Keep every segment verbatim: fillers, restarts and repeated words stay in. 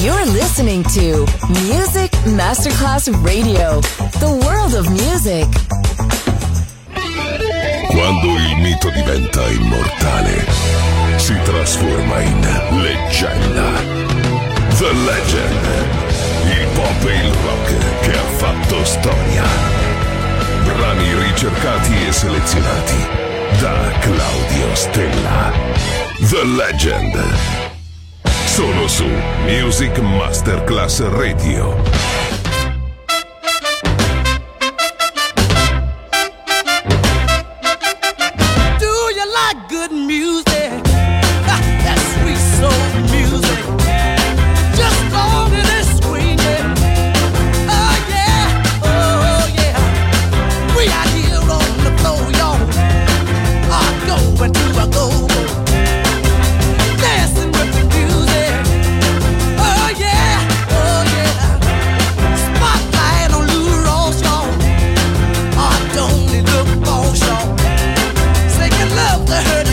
You're listening to Music Masterclass Radio, the world of music. Quando il mito diventa immortale, si trasforma in leggenda. The Legend, il pop e il rock che ha fatto storia. Brani ricercati e selezionati da Claudio Stella. The Legend. Solo su Music Masterclass Radio. Good music, that sweet soul music, just long as it's swinging. Oh yeah, oh yeah, we out here on the floor, y'all. I go into a go, dancing with the music. Oh yeah, oh yeah, spotlight on Lou Ross, y'all. I don't need look for y'all. Singing love to her.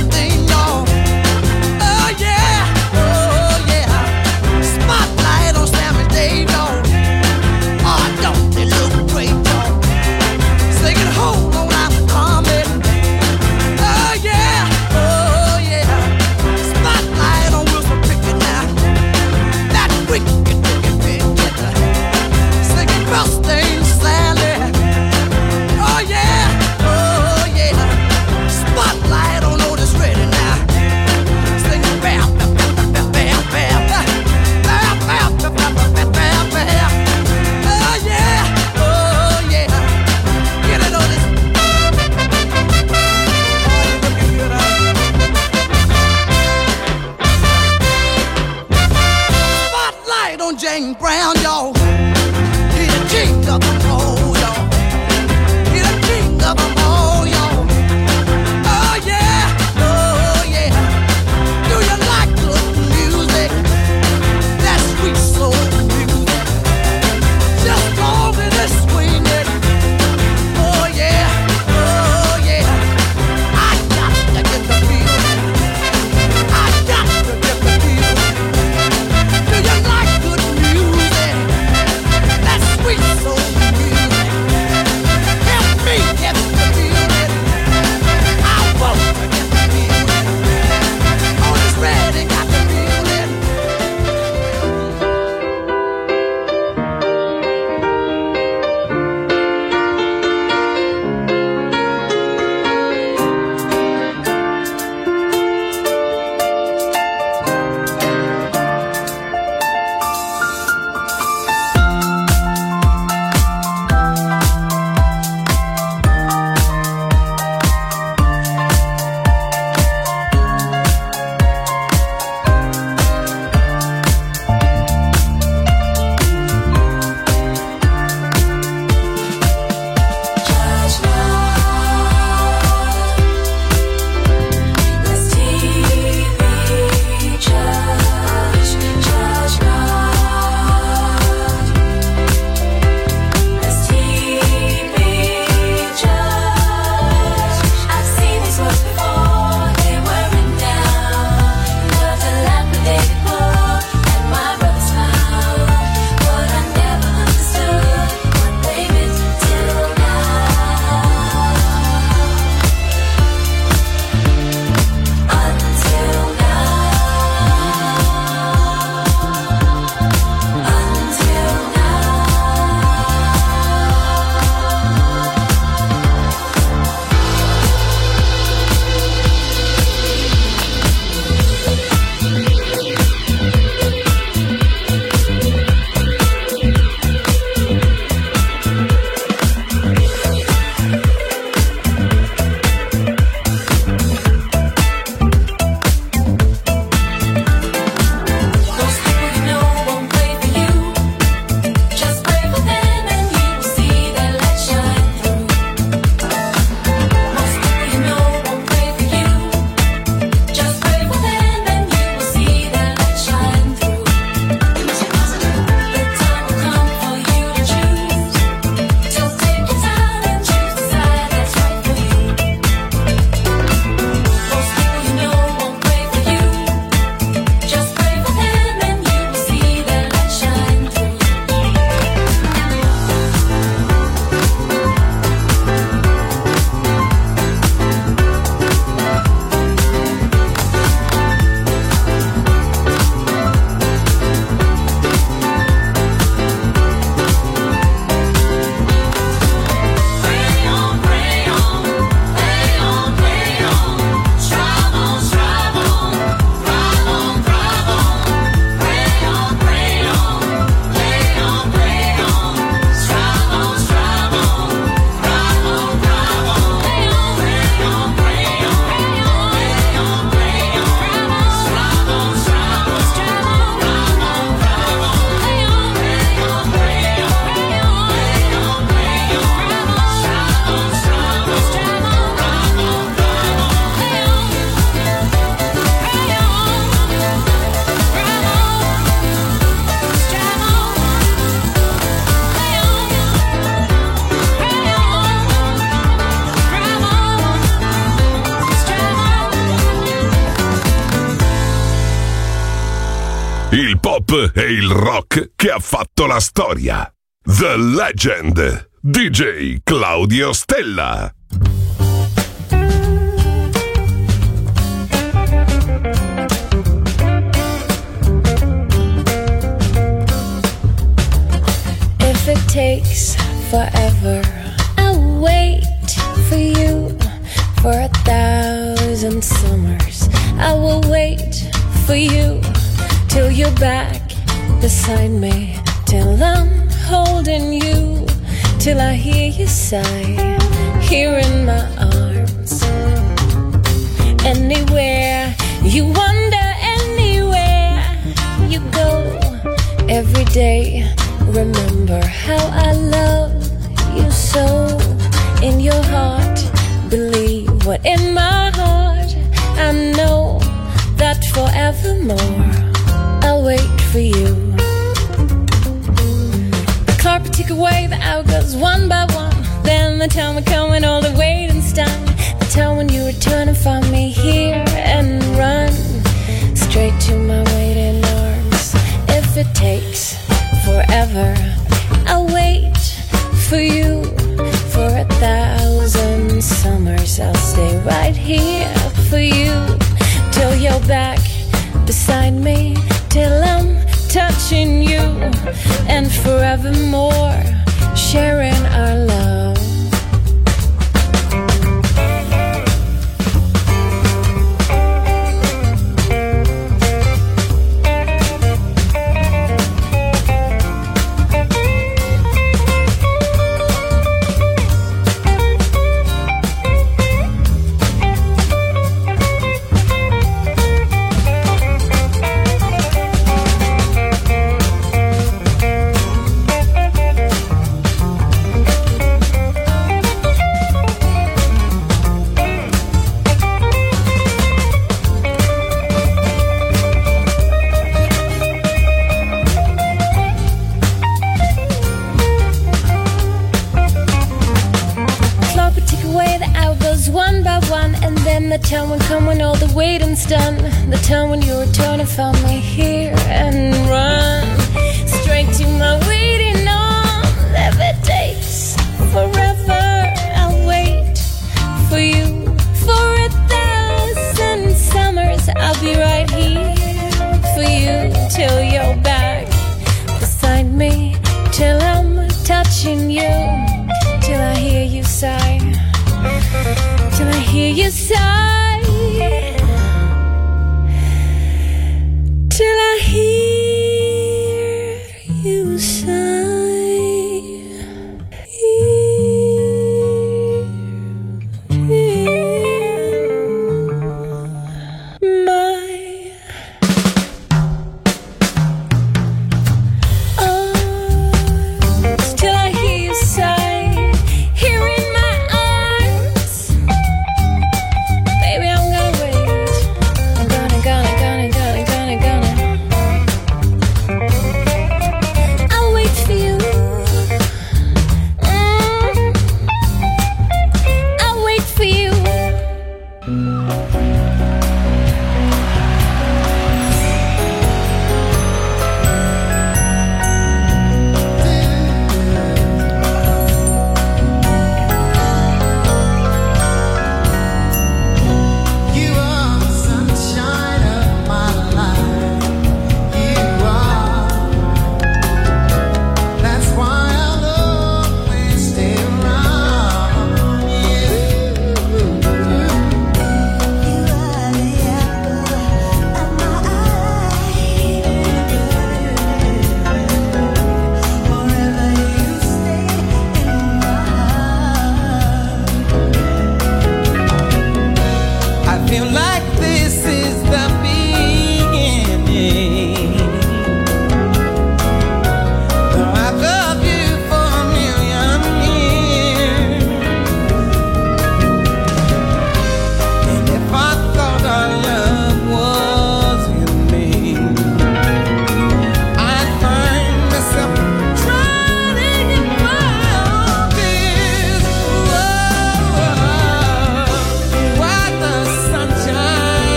James Brown, y'all. He the king of them all, y'all. He the king of them all, y'all. Oh yeah, oh yeah. Do you like good music? That sweet soul music. Just long as it's swinging. Oh yeah, oh yeah. I got to get the feeling. I got to get the feeling. Do you like good music? That sweet soul music. Il pop e il rock che ha fatto la storia. The Legend, D J Claudio Stella. If it takes forever, I'll wait for you for a thousand summers. I will wait for you till you're back beside me, till I'm holding you, till I hear you sigh here in my arms. Anywhere you wander, anywhere you go, every day remember how I love you so. In your heart, believe what in my heart I know, that forevermore I'll wait for you. The carpet took away the hours one by one. Then the time would come when all the waiting's done. The time when you return and find me here and run straight to my waiting arms. If it takes forever, I'll wait for you for a thousand summers. I'll stay right here for you till you're back beside me, till I'm touching you, and forevermore sharing our love. The time will come when all the waiting's done. The time when you return and find me here and run straight to my waiting arms. If it takes forever, I'll wait for you for a thousand summers. I'll be right here for you till you're back beside me, till I'm touching you, till I hear you sigh, till I hear you sigh, till I hear you sigh. Wait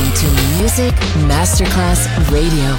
listening to Music Masterclass Radio.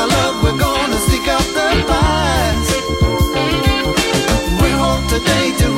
We're home today to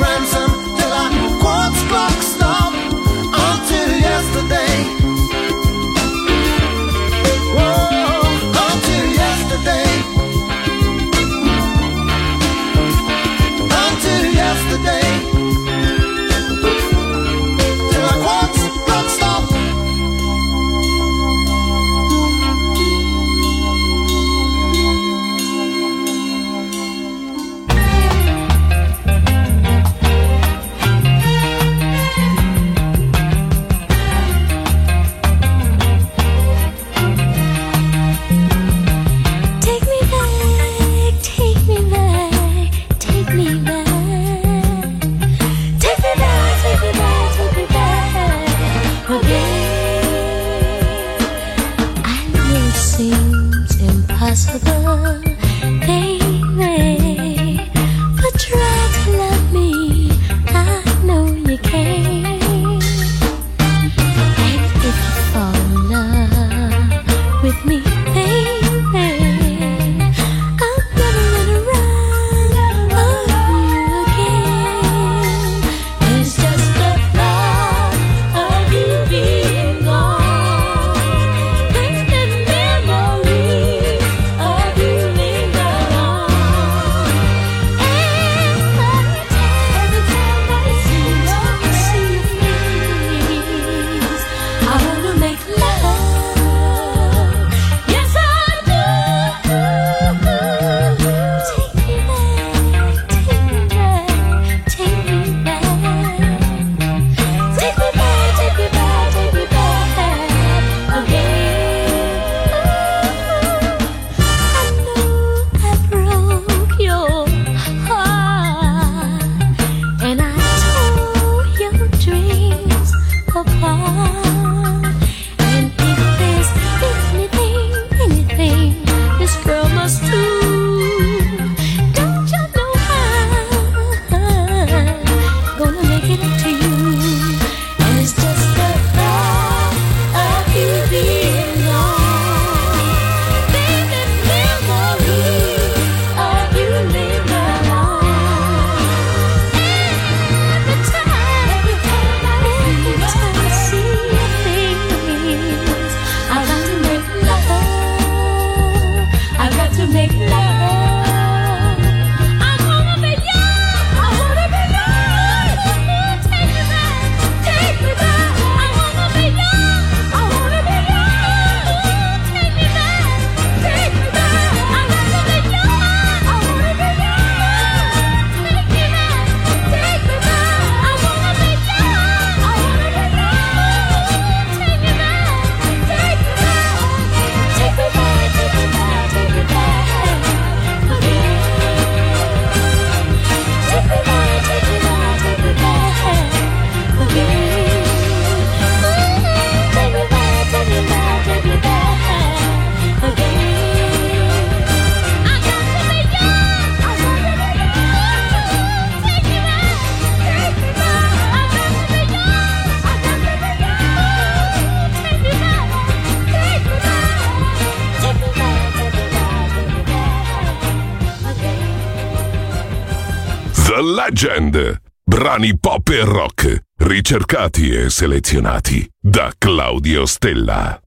The Legend. Brani pop e rock, ricercati e selezionati da Claudio Stella.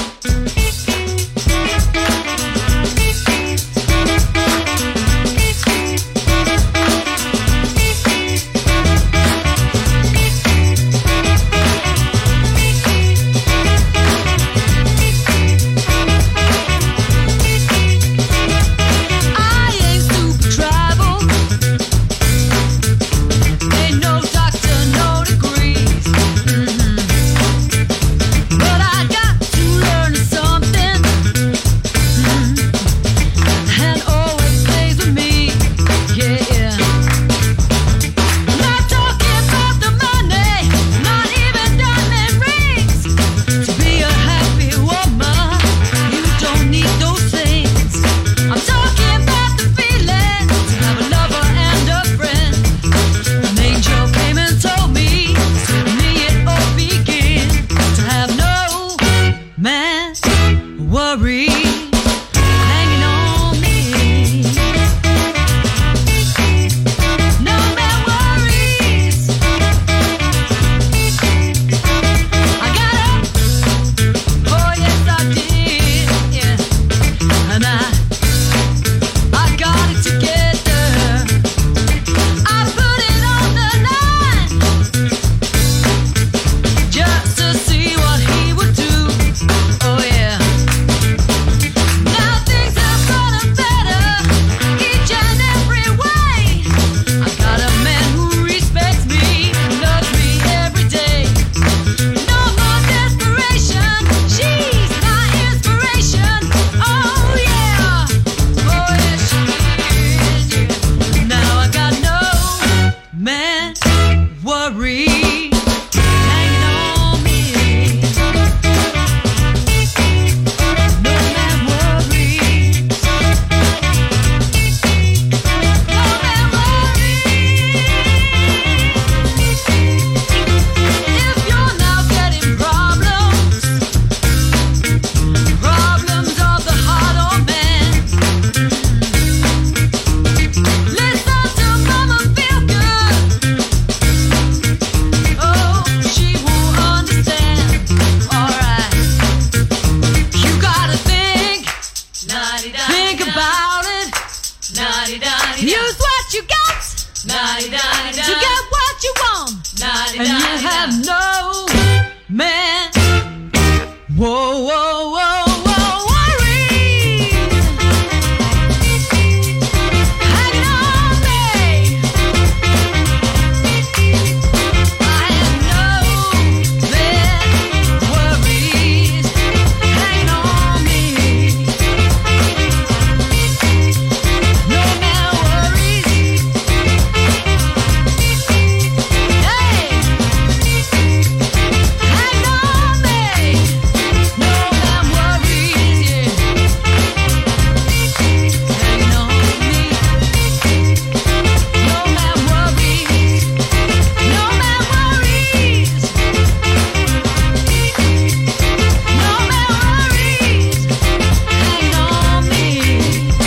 But I got to learn something. and you have no man. Whoa, whoa, whoa, whoa, worry. Hanging on me. I have no man worries. Hanging on me. No man worries. Hey, hanging on me. No man worries. Yeah, hanging on me. No man worries. No man worries. No man worries. Hanging on me.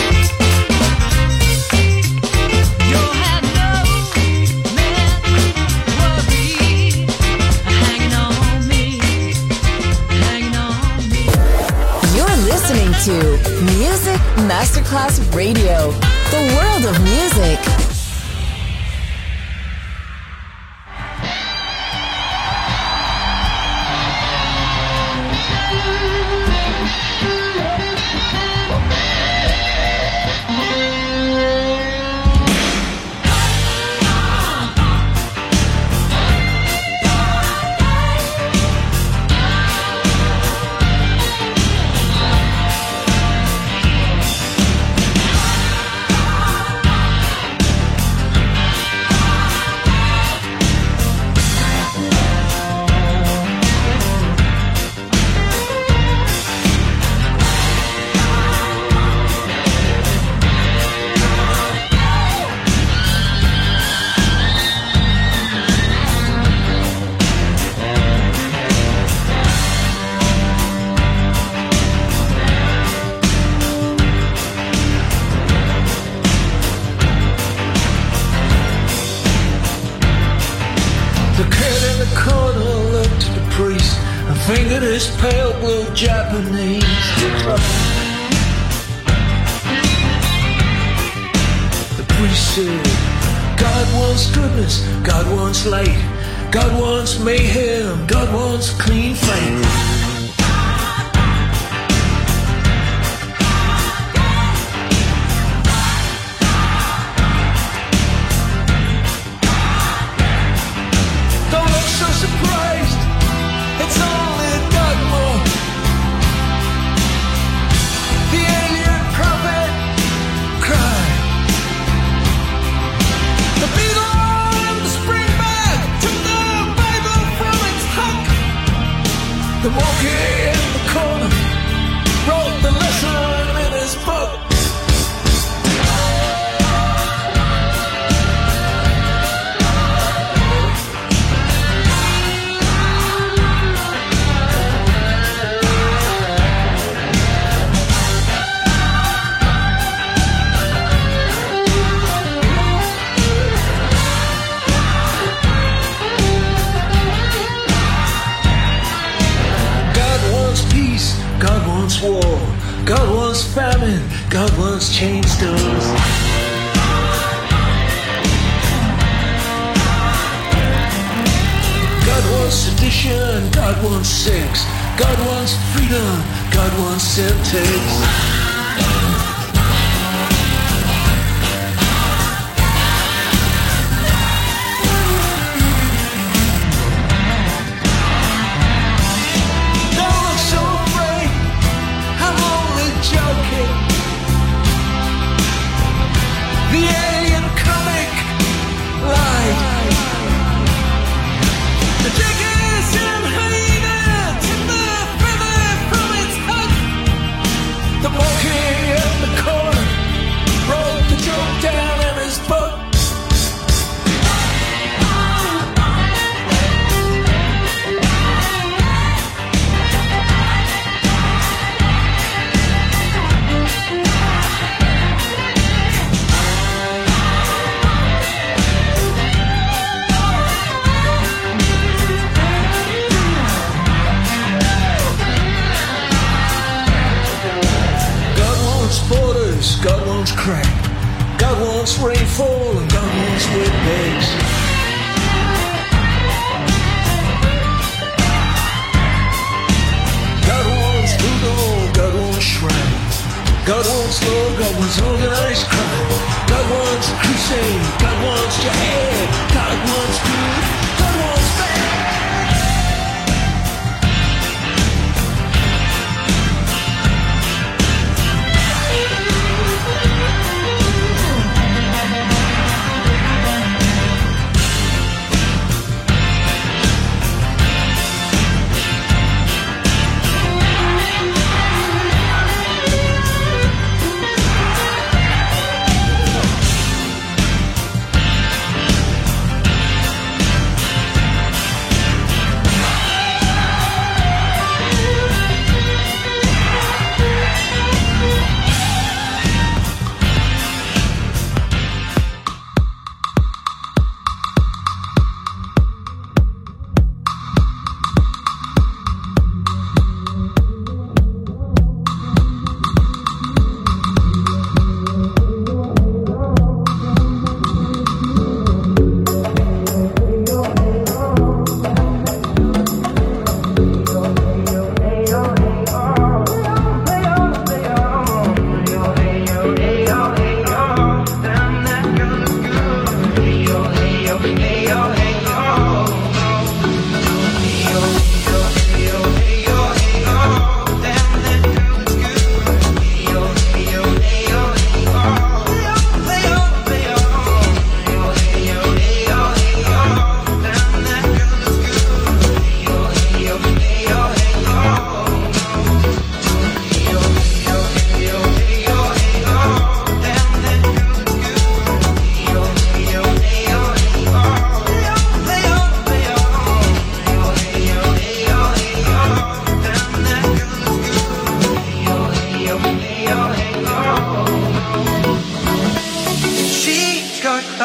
You'll have no man worries. Hanging on me. Hanging on me. You're listening to Music Masterclass Radio, the world of music. Hanging fingered his pale blue Japanese decline. The priest said, God wants goodness, God wants light, God wants mayhem, God wants clean faith. The monkey in the corner wrote the lesson in his book. God wants war, God wants famine, God wants chain stores. God wants sedition, God wants sex, God wants freedom, God wants syntax. God wants crack, God wants rainfall, and God wants wet bags. God wants voodoo, God wants shrines, God wants law, God wants organized crime. God wants crusade, God wants jihad, God wants good, God wants bad.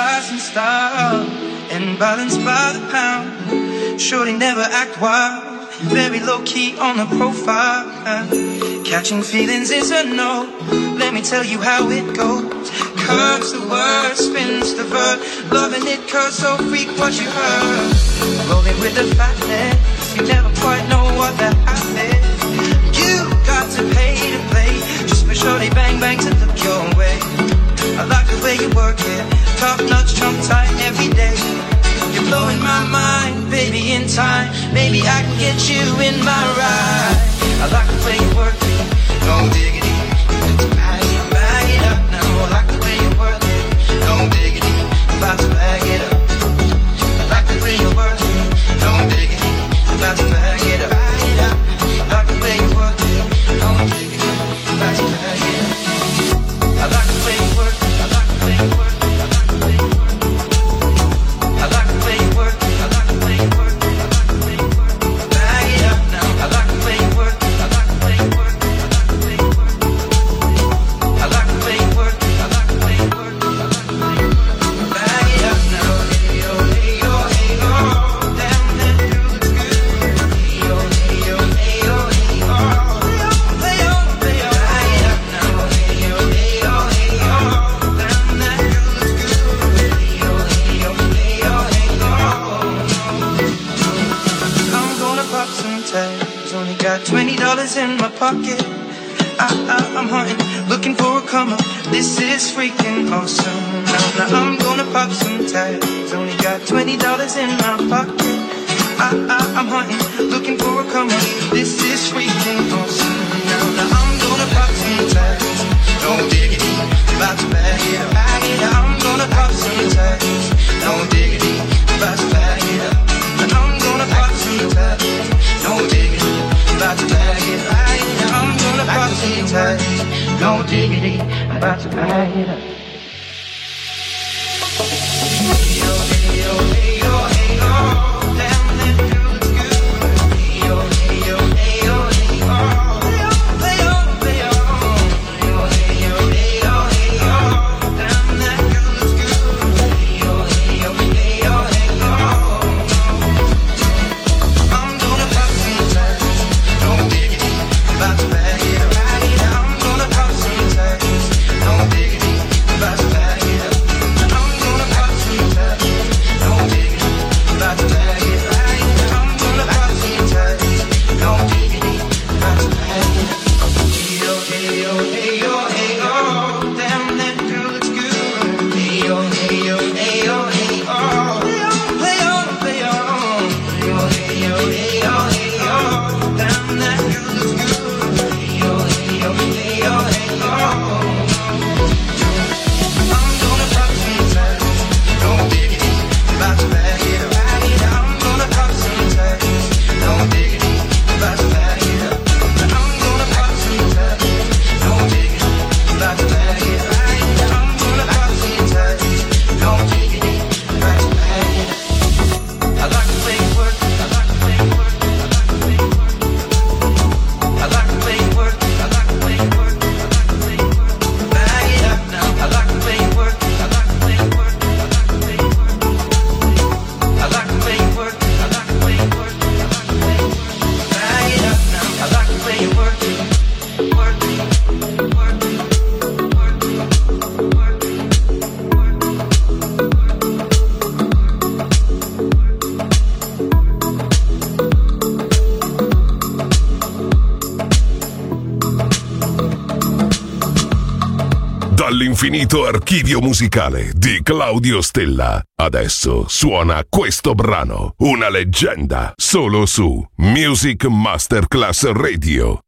and balanced by the pound. Surely never act wild, very low key on the profile. Catching feelings is a no. Let me tell you how it goes. Curves the word, spins the verb. Loving it cause so freak what you heard. Rolling with the fatness, you never quite know what that happened. You got to pay to play, just for shorty bang bang to look your way. I like the way you work it, top notch, trump tight every day. You're blowing my mind, baby, in time. Maybe I can get you in my ride. I like the way you work it, no diggity. Bag it, bag it up now. I like the way you work it, no diggity. About to bag it up. I like the way you work it, no diggity. About to bag it up. Bag it up. I like the way you work it, no diggity. About to bag it up. I like the way you work it. I like the way you work it. I like the way you work it. I like the way you work it. I like the way you work it. I like the way you work it. Bag it up now. I like the way you work it. I like the way you work it. I like the way you work it. I like the way you work it. I like the way you work it. I like the way you work it. Bag it up now. Hey yo, hey yo, hey yo. Damn, that girl looks good. Hey yo, hey yo, hey yo, hey yo. Play on, play on. Bag it up now. Hey yo, hey yo, hey yo. Damn, that girl looks good. Hey yo, hey yo, hey yo, hey yo. I'm gonna pop some tags. Only got twenty dollars in my pocket. I, I, I'm hunting, looking for a come up. This is freaking awesome. Now, now I'm gonna pop some tags. Only got twenty dollars in my pocket. I, I, I'm hunting, looking for a come up. This is freaking awesome. Now, now I'm gonna pop some tags. No diggity, about to bag it up. Bag it up. I'm gonna pop some tags. No diggity, about to bag it up. Now I'm gonna pop some tags. No diggity, about to bag it up. I'm gonna pop some tags. No diggity, about to bag it up. Hey yo, hey yo, hey yo, hey yo. Damn, that girl looks good. Hey yo, hey yo, hey yo, hey yo. Play on, play on. Hey yo, hey yo, hey yo, hey yo. Damn, that girl looks good. Hey yo, hey yo, hey yo, hey yo. I'm gonna pop some tags. No diggity, about to bag it up. I'm gonna pop some tags. No diggity, about to bag it up. I'm gonna pop some tags. No diggity, about to bag it up. I'm gonna pop some tags. No diggity, about to bag it up. Hey yo, hey yo, hey yo, hey yo. Damn, that girl looks good. Hey yo, hey yo, hey yo, hey yo. Play on, play on. Hey yo, hey yo, hey yo, hey yo. Damn, that girl looks good. Hey yo, hey yo, hey yo, hey yo. I'm gonna pop some tags. No diggity, about to bag it up. I'm gonna pop some tags. No diggity, about to bag it up. I'm gonna pop some tags. No diggity, about to bag it up. I'm gonna pop some tags. No diggity, about to bag it up. I like the way you work it. I like the way you work it. I like the way you work it. I like the way you work it. I like the way you work it. I like the way you work it. Bag it up now. I like the way you work it. I like the way you work it. I like the way you work it. I like the way you work it. I like the way you work it. I like the way you work it. Bag it up now. I like the way you work it. Work it. Work it. Work it. Work it. Dall'infinito archivio musicale di Claudio Stella. Adesso suona questo brano, una leggenda, solo su Music Masterclass Radio.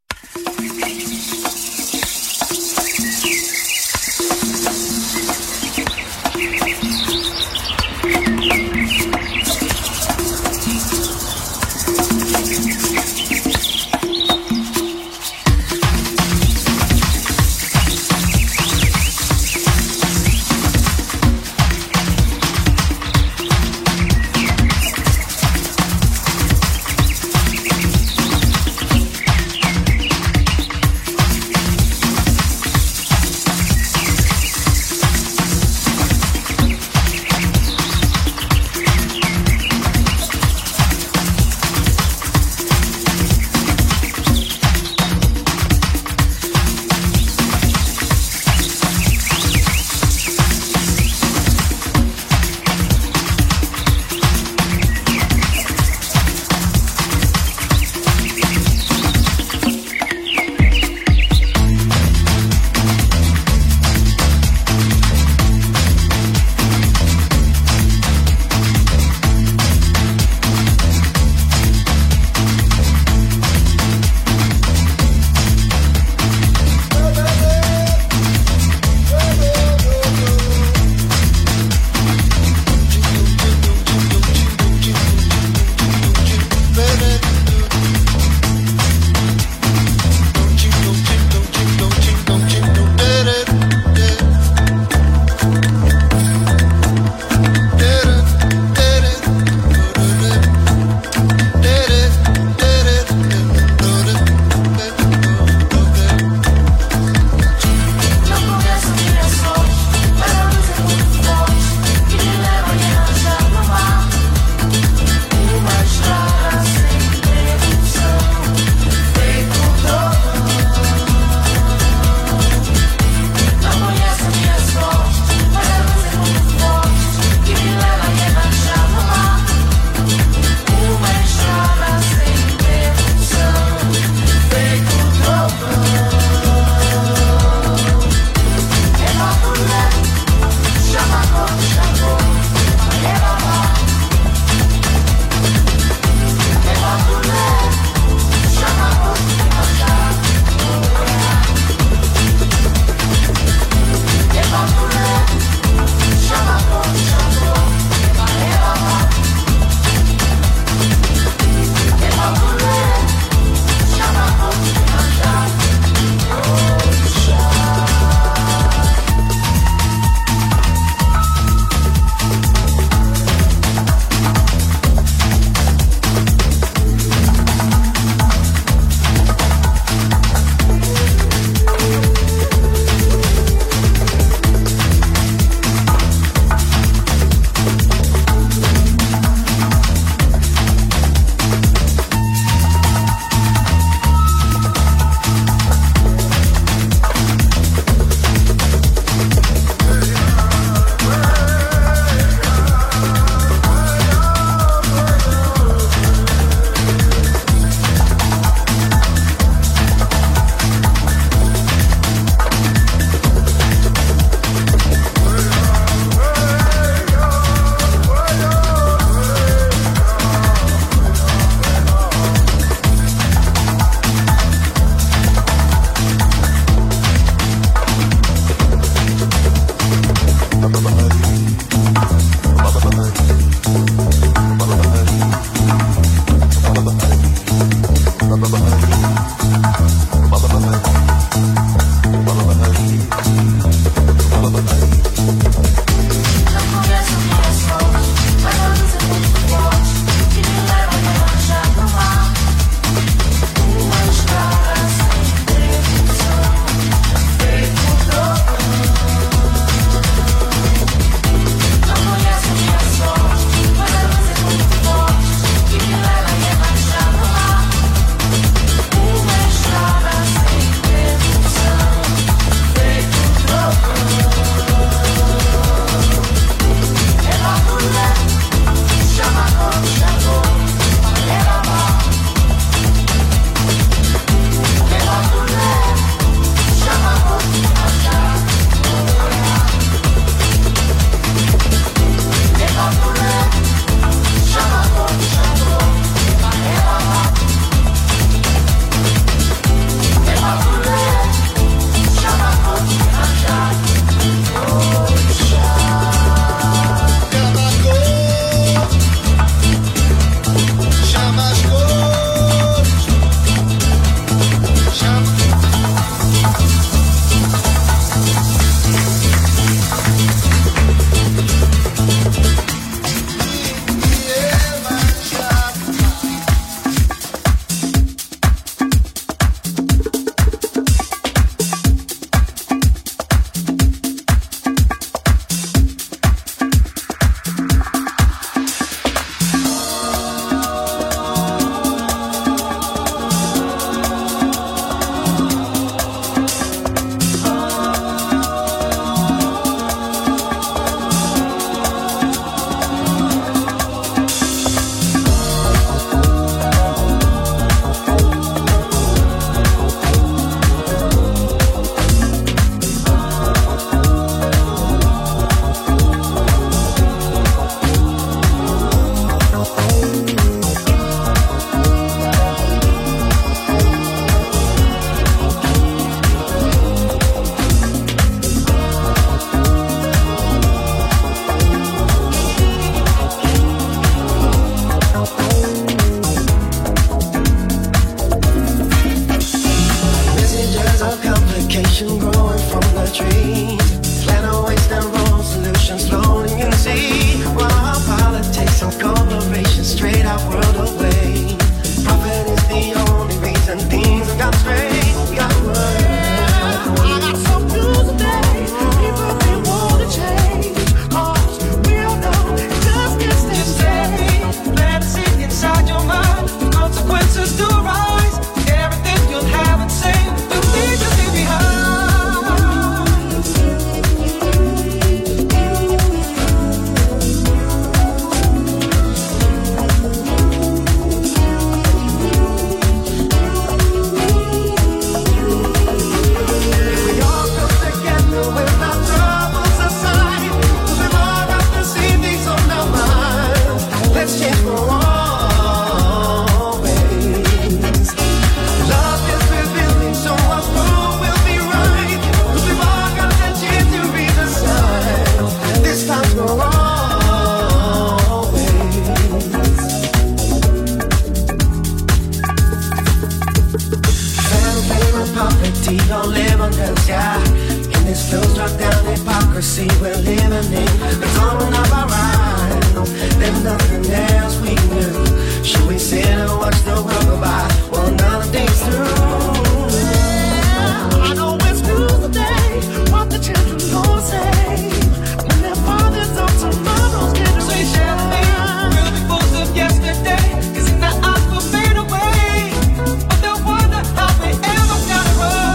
there's nothing else we can do. Should we sit and watch the world go by while another day's through? I know it's through the day, what the children gonna say when their fathers on tomorrow's generation. We'll be fools of yesterday, 'cause in the eyes will fade away, but they'll wonder how they ever got it wrong.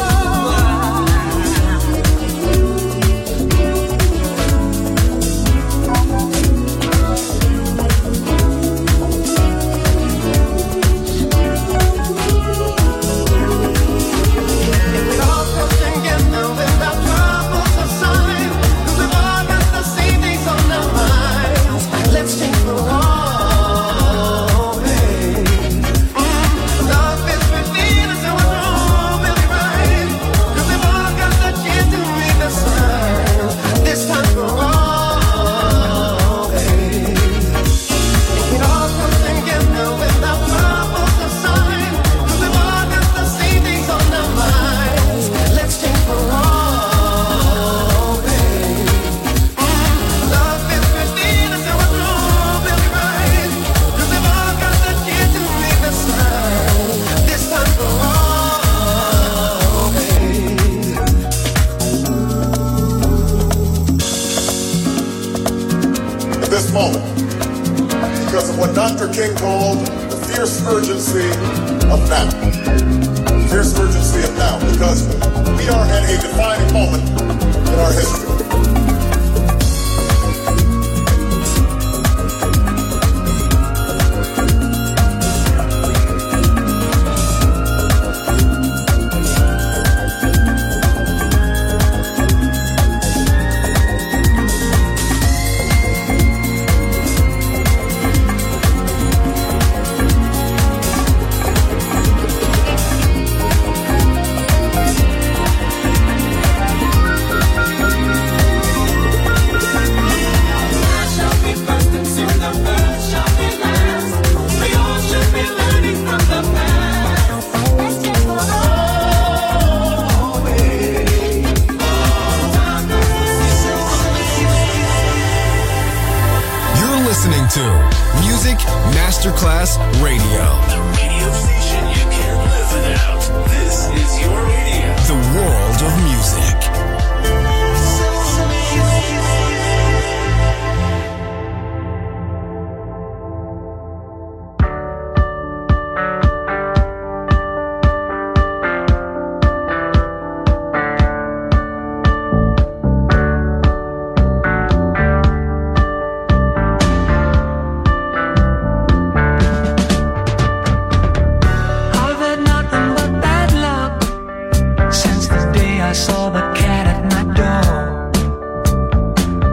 Because of what Doctor King called the fierce urgency of now. The fierce urgency of now. Because we are at a defining moment in our history. Masterclass Radio. The radio station you can't live without. This is your radio. The world of music. Saw the cat at my door.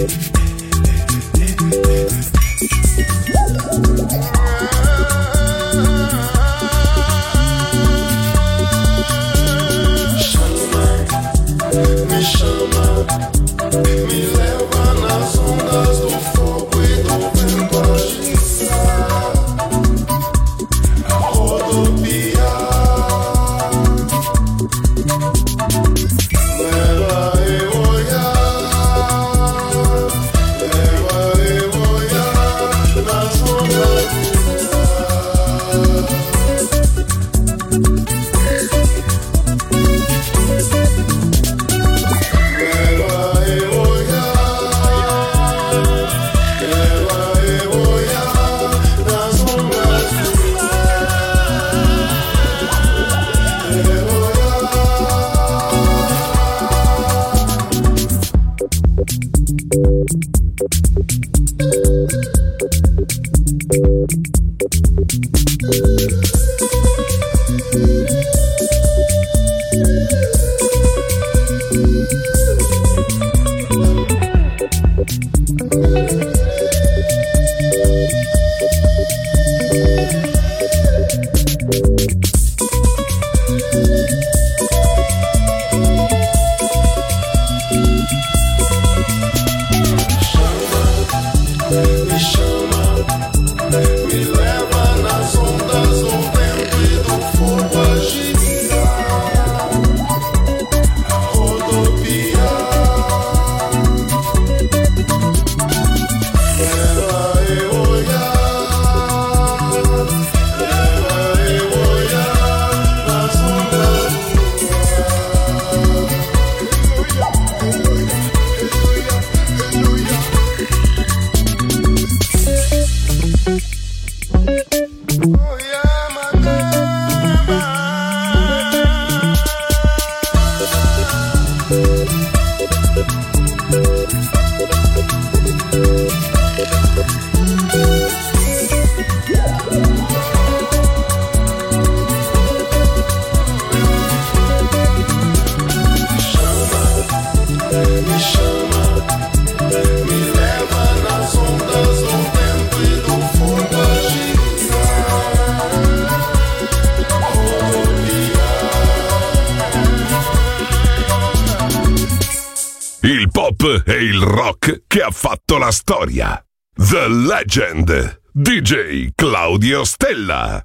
E il rock che ha fatto la storia. The Legend, D J Claudio Stella.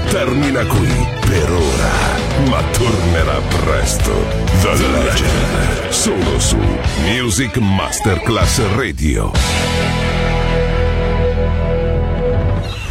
termina qui per ora, ma tornerà presto. The Legend, solo su Music Masterclass Radio.